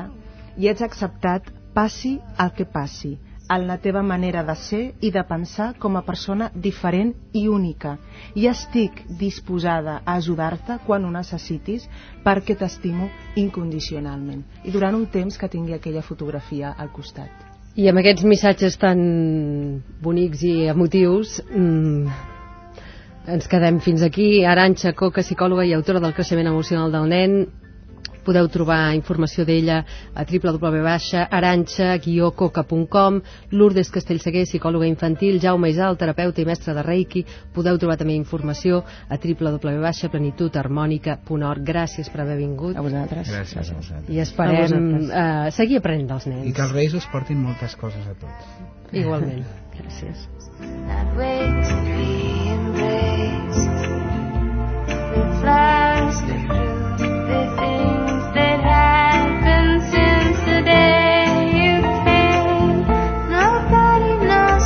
i ets acceptat passi el que passi, en la teva manera de ser i de pensar com a persona diferent i única, i estic disposada a ajudar-te quan ho necessitis perquè t'estimo incondicionalment. I durant un temps que tingui aquella fotografia al costat. I amb aquests missatges tan bonics i emotius ens quedem fins aquí. Arantxa Coca, psicòloga i autora del creixement emocional del nen. Podeu trobar informació d'ella a www.arantxa-coca.com. Lourdes Castellseguer, psicòloga infantil. Jaume Isal, terapeuta i mestre de Reiki. Podeu trobar també informació a www.plenitudharmònica.org. Gràcies per haver vingut. A vosaltres. Gràcies a vosaltres. I esperem seguir aprenent dels nens. I que els Reis us portin moltes coses a tots. Igualment. Gràcies. That way to be embraced. The flowers that grew, the things that happened since the day you came. Nobody knows,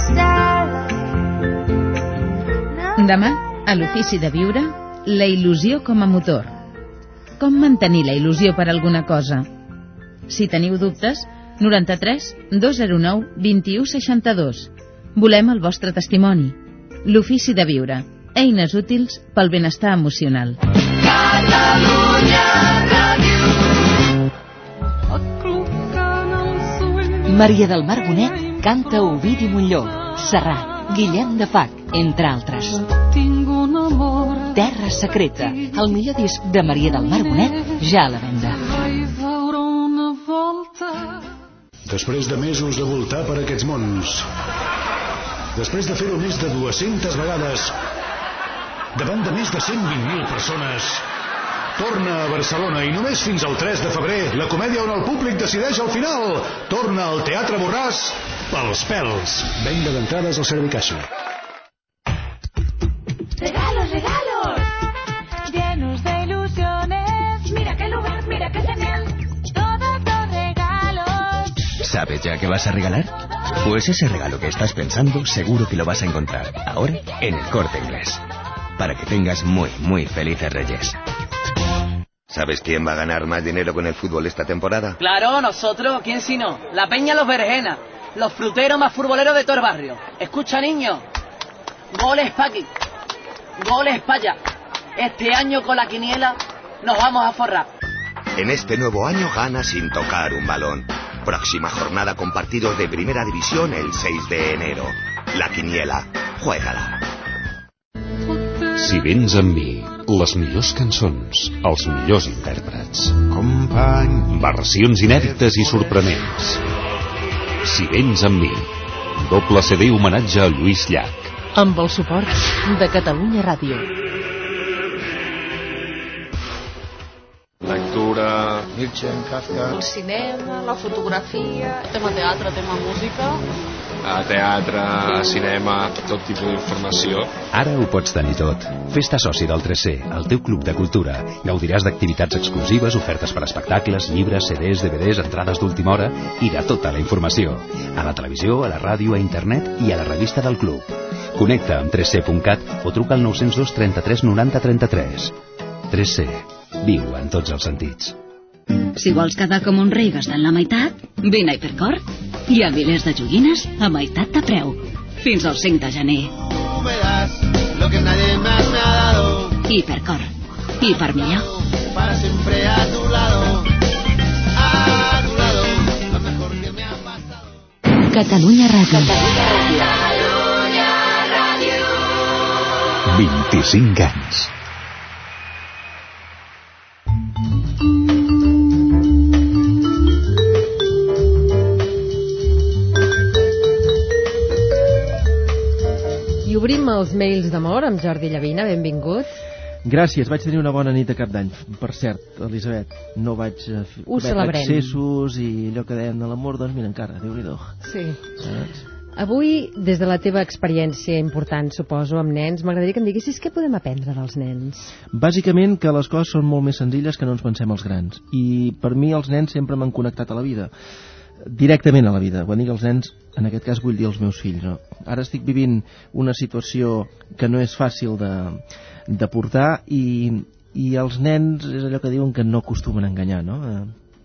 darling. Demà, a l'Ofici de Viure, la il·lusió com a motor. Com mantenir la il·lusió per alguna cosa? Si teniu dubtes, 93 209 21 62. Volem el vostre testimoni. L'Ofici de Viure. Eines útils pel benestar emocional. Maria del Mar Bonet canta Ovidi Montllor, Serrat, Guillem de Fac, entre altres. Terra secreta, el millor disc de Maria del Mar Bonet, ja a la venda. Després de mesos de voltar per aquests mons, després de fer-ho més de 200 vegades, davant de més de 120.000 persones, torna a Barcelona i només fins al 3 de febrer, la comèdia on el públic decideix al final. Torna al Teatre Borràs pels pèls. Venda d'entrades al Servicaixa. Regalos, regalos, llenos de ilusiones. Mira qué lugar, mira qué genial. Todos los regalos. ¿Sabes ya qué vas a regalar? Pues ese regalo que estás pensando seguro que lo vas a encontrar ahora en El Corte Inglés. Para que tengas muy, muy felices Reyes. ¿Sabes quién va a ganar más dinero con el fútbol esta temporada? Claro, nosotros, ¿quién si no? La Peña Los Berenjenas, los fruteros más futboleros de todo el barrio. Escucha, niño, goles pa' aquí, goles pa' allá. Este año con la quiniela nos vamos a forrar. En este nuevo año gana sin tocar un balón. Próxima jornada con partidos de Primera División el 6 de enero. La quiniela, juégala. Si vens amb mi, les millors cançons, els millors intèrprets. Company. Versions inèdites i sorprenents. Si vens amb mi, doble CD homenatge a Lluís Llach. Amb el suport de Catalunya Ràdio. Lectura, Nietzsche, Kafka. El cinema, la fotografia, tema teatre, tema música. Teatre, cinema, tot tipus d'informació. Ara ho pots tenir tot. Fes-te soci del 3C, el teu club de cultura. Gaudiràs d'activitats exclusives, ofertes per espectacles, llibres, CDs, DVDs, entrades d'última hora i de tota la informació. A la televisió, a la ràdio, a internet i a la revista del club. Connecta amb 3C.cat o truca al 902 33 90 33. 3C. Viu en tots els sentits. Si vols quedar com un rei gastant la meitat, vine a Hipercor. Hi ha milers de joguines a meitat de preu. Fins al 5 de gener. Hipercor. Hiper millor. Para siempre a tu lado. A tu lado. Lo mejor que me ha pasado. Catalunya Ràdio. Catalunya Ràdio. 25 anys. Obrim els mails d'amor amb Jordi Llavina, benvingut. Gràcies, vaig tenir una bona nit de cap d'any. Per cert, Elisabet, no vaig cometre excessos i allò que deien de l'amor, doncs mira encara, Déu-n'hi-do. Sí. Avui, des de la teva experiència important, suposo, amb nens, m'agradaria que em diguessis què podem aprendre dels nens. Bàsicament que les coses són molt més senzilles que no ens pensem els grans. I per mi els nens sempre m'han connectat a la vida. Directament a la vida. Quan dic els nens, en aquest cas vull dir els meus fills. No? Ara estic vivint una situació que no és fàcil de portar i els nens és allò que diuen que no acostumen a enganyar, no?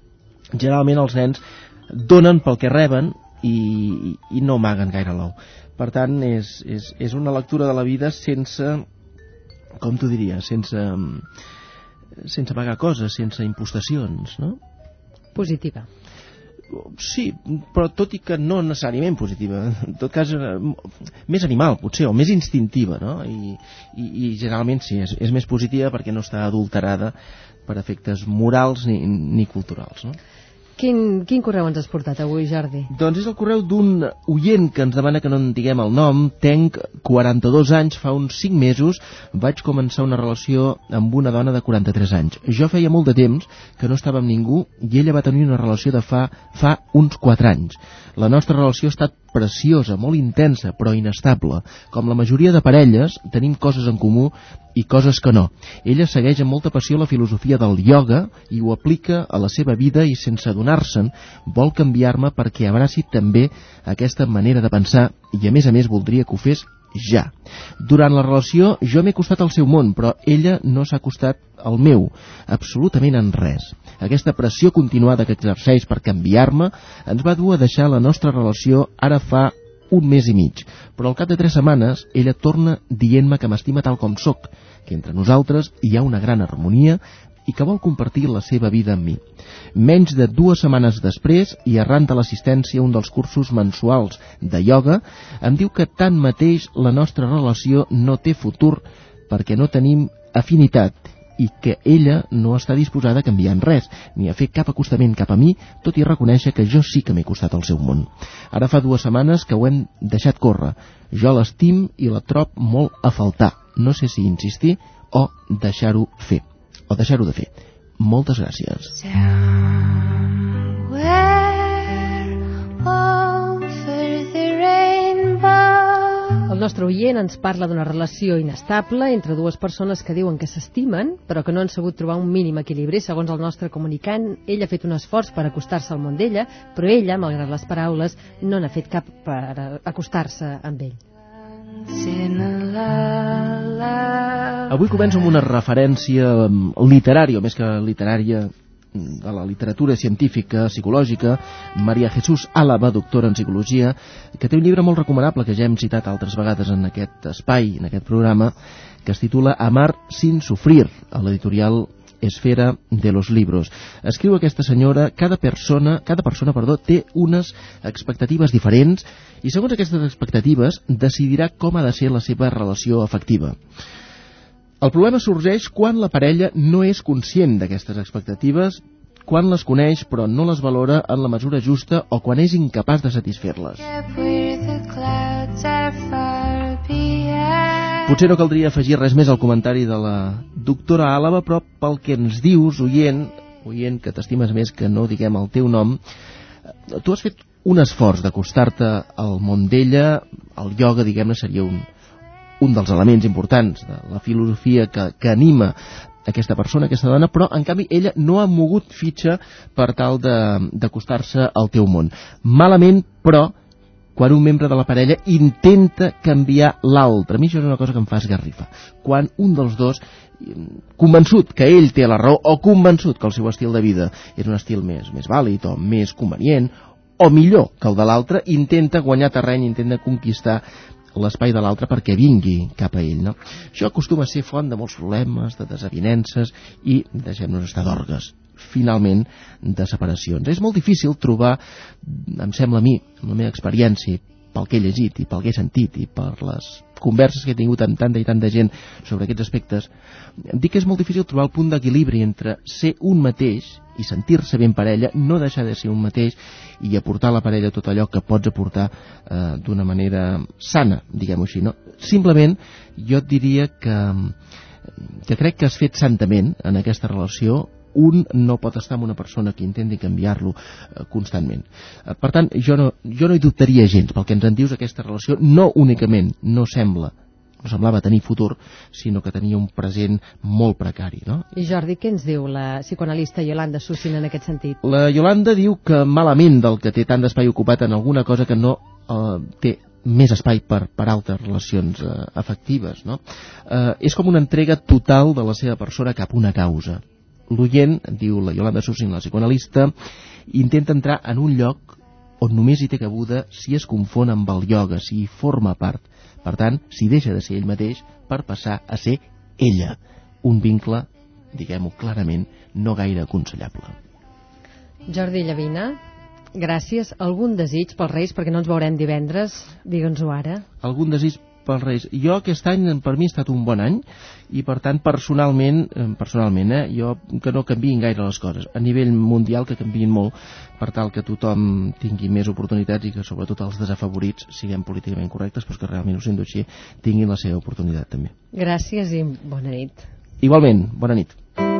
generalment els nens donen pel que reben i no amaguen gaire l'ou. Per tant, és una lectura de la vida sense, com t'ho diria, sense amagar coses, sense impostacions, no? Positiva. Sí, però tot i que no necessàriament positiva, en tot cas més animal potser, o més instintiva, no? I generalment sí, és més positiva perquè no està adulterada per efectes morals ni culturals, no? Quin correu ens has portat avui, Jordi? Doncs és el correu d'un oient que ens demana que no en diguem el nom. Tenc 42 anys, fa uns 5 mesos vaig començar una relació amb una dona de 43 anys. Jo feia molt de temps que no estava amb ningú i ella va tenir una relació de fa uns 4 anys. La nostra relació ha estat preciosa, molt intensa, però inestable. Com la majoria de parelles, tenim coses en comú i coses que no. Ella segueix amb molta passió la filosofia del ioga i ho aplica a la seva vida i sense adonar-se'n vol canviar-me perquè abraci també aquesta manera de pensar i a més voldria que ho fes ja. Durant la relació jo m'he acostat al seu món, però ella no s'ha acostat al meu, absolutament en res. Aquesta pressió continuada que exerceix per canviar-me ens va dur a deixar la nostra relació ara fa un mes i mig, però al cap de 3 setmanes ella torna dient-me que m'estima tal com sóc, que entre nosaltres hi ha una gran harmonia i que vol compartir la seva vida amb mi. Menys de 2 setmanes després, i arran de l'assistència a un dels cursos mensuals de ioga, em diu que tanmateix la nostra relació no té futur perquè no tenim afinitat i que ella no està disposada a canviar en res, ni a fer cap acostament cap a mi, tot i reconèixer que jo sí que m'he acostat al seu món. Ara fa 2 setmanes que ho hem deixat córrer. Jo l'estim i la trob molt a faltar. No sé si insistir o deixar-ho fer. O deixar-ho de fer. Moltes gràcies. El nostre oient ens parla d'una relació inestable entre 2 persones que diuen que s'estimen, però que no han sabut trobar un mínim equilibri. Segons el nostre comunicant, ell ha fet un esforç per acostar-se al món d'ella, però ella, malgrat les paraules, no n'ha fet cap per acostar-se amb ell. Avui començo amb una referència literària, o més que literària, de la literatura científica, psicològica, María Jesús Álava, doctora en psicologia, que té un llibre molt recomanable que ja hem citat altres vegades en aquest espai, en aquest programa, que es titula Amar sin sufrir, a l'editorial Esfera de los Libros. Escriu aquesta senyora, cada persona, té unes expectatives diferents i segons aquestes expectatives decidirà com ha de ser la seva relació afectiva. El problema sorgeix quan la parella no és conscient d'aquestes expectatives, quan les coneix però no les valora en la mesura justa o quan és incapaç de satisfer-les. Potser no caldria afegir res més al comentari de la doctora Álava, però pel que ens dius, oient que t'estimes més que no diguem el teu nom, tu has fet un esforç d'acostar-te al món d'ella. El ioga, diguem-ne, seria un dels elements importants de la filosofia que anima aquesta persona, aquesta dona, però en canvi ella no ha mogut fitxa per tal d'acostar-se al teu món. Malament, però, quan un membre de la parella intenta canviar l'altre. A mi això és una cosa que em fa esgarrifa. Quan un dels dos, convençut que ell té la raó o convençut que el seu estil de vida és un estil més vàlid o més convenient o millor que el de l'altre, intenta guanyar terreny, intenta conquistar l'espai de l'altre perquè vingui cap a ell, no? Això acostuma a ser font de molts problemes, de desavinences i, deixem-nos estar d'orgues, finalment, de separacions. És molt difícil trobar, em sembla a mi, amb la meva experiència, pel que he llegit i pel que he sentit i per les converses que he tingut amb tanta i tanta gent sobre aquests aspectes, dic que és molt difícil trobar el punt d'equilibri entre ser un mateix i sentir-se bé en parella, no deixar de ser un mateix i aportar a la parella tot allò que pots aportar d'una manera sana, diguem-ho així, no? Simplement, jo et diria que crec que has fet santament en aquesta relació. Un no pot estar amb una persona que intenti canviar-lo constantment. Per tant, jo no hi dubtaria gens pel que ens en dius. Aquesta relació no únicament no semblava tenir futur, sinó que tenia un present molt precari, no? I Jordi, què ens diu la psicoanalista Yolanda Sussin en aquest sentit? La Yolanda diu que malament del que té tant d'espai ocupat en alguna cosa que no té més espai per altres relacions afectives, no? És com una entrega total de la seva persona cap a una causa. l'oient, diu la Yolanda Sussin, la psicoanalista, intenta entrar en un lloc on només hi té cabuda si es confon amb el ioga, si hi forma part. Per tant, si deixa de ser ell mateix per passar a ser ella. Un vincle, diguem-ho clarament, no gaire aconsellable. Jordi Llavina, gràcies. Algun desig pels Reis, perquè no ens veurem divendres? Digue'ns-ho ara. Algun desig pels Reis? Jo aquest any per mi ha estat un bon any i per tant personalment jo que no canviïn gaire les coses. A nivell mundial que canviïn molt per tal que tothom tingui més oportunitats i que sobretot els desafavorits siguem políticament correctes, però que realment ho sento així, tinguin la seva oportunitat també. Gràcies i bona nit. Igualment, bona nit.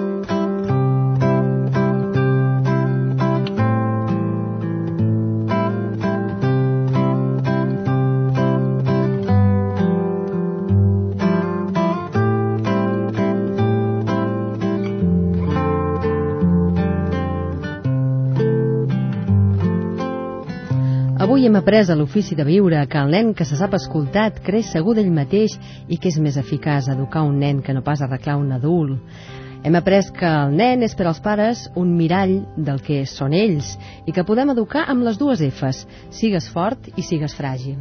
Avui hem après a l'ofici de viure que el nen que se sap escoltat creix segur d'ell mateix i que és més eficaç educar un nen que no pas arreglar un adult. Hem après que el nen és per als pares un mirall del que són ells i que podem educar amb les dues Fs, sigues fort i sigues fràgil.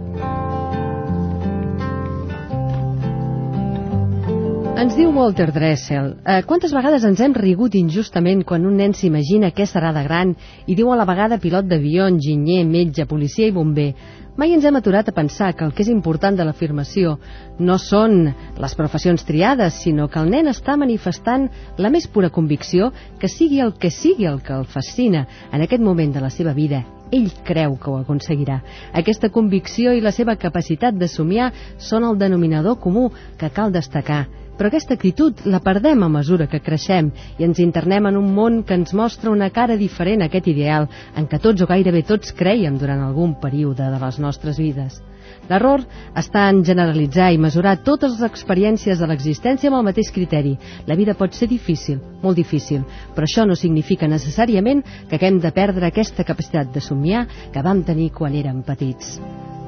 Ens diu Walter Dressel, quantes vegades ens hem rigut injustament quan un nen s'imagina què serà de gran i diu a la vegada pilot d'avió, enginyer, metge, policia i bomber. Mai ens hem aturat a pensar que el que és important de l'afirmació no són les professions triades, sinó que el nen està manifestant la més pura convicció que sigui el que el fascina en aquest moment de la seva vida. Ell creu que ho aconseguirà. Aquesta convicció i la seva capacitat de somiar són el denominador comú que cal destacar. Però aquesta actitud la perdem a mesura que creixem i ens internem en un món que ens mostra una cara diferent a aquest ideal en què tots o gairebé tots crèiem durant algun període de les nostres vides. L'error està en generalitzar i mesurar totes les experiències de l'existència amb el mateix criteri. La vida pot ser difícil, molt difícil, però això no significa necessàriament que haguem de perdre aquesta capacitat de somiar que vam tenir quan érem petits.